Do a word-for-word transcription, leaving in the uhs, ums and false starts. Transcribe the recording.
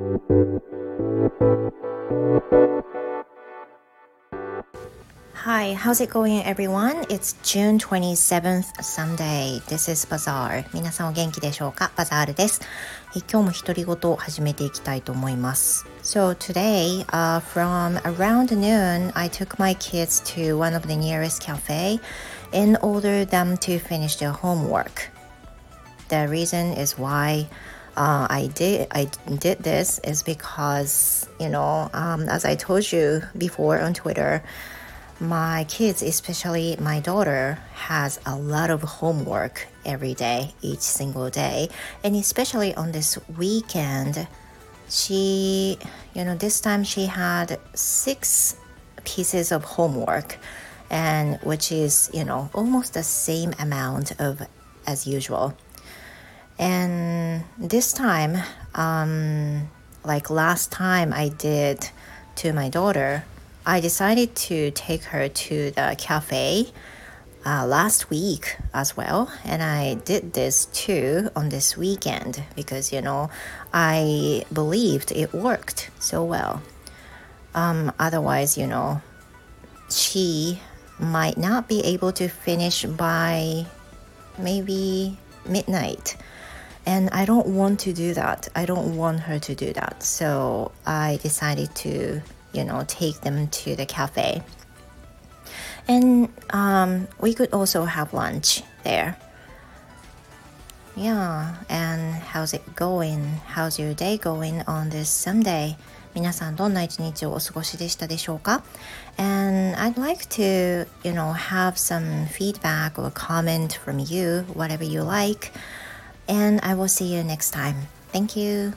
Hi, how's it going everyone? It's June twenty-seventh, Sunday. This is Bazaar. 皆さんお元気でしょうか？バザールです。え今日も独り言を始めていきたいと思います。So today, uh, from around noon, I took my kids to one of the nearest cafe and ordered them to finish their homework. The reason is why uh, I did I did this is because, you know, um, as I told you before on Twitter,My kids, especially my daughter, has a lot of homework every day, each single day. And especially on this weekend, she, you know, this time she had six pieces of homework, and which is, you know, almost the same amount of as usual. And this time, um, like last time I did to my daughter,I decided to take her to the cafe uh, last week as well. And I did this too on this weekend because, you know, I believed it worked so well. Um, otherwise, you know, she might not be able to finish by maybe midnight. And I don't want to do that. I don't want her to do that. So I decided to,you know, take them to the cafe. And um, we could also have lunch there. Yeah, and how's it going? How's your day going on this Sunday? 皆さんどんな一日をお過ごしでしたでしょうか？ And I'd like to, you know, have some feedback or comment from you, whatever you like. And I will see you next time. Thank you.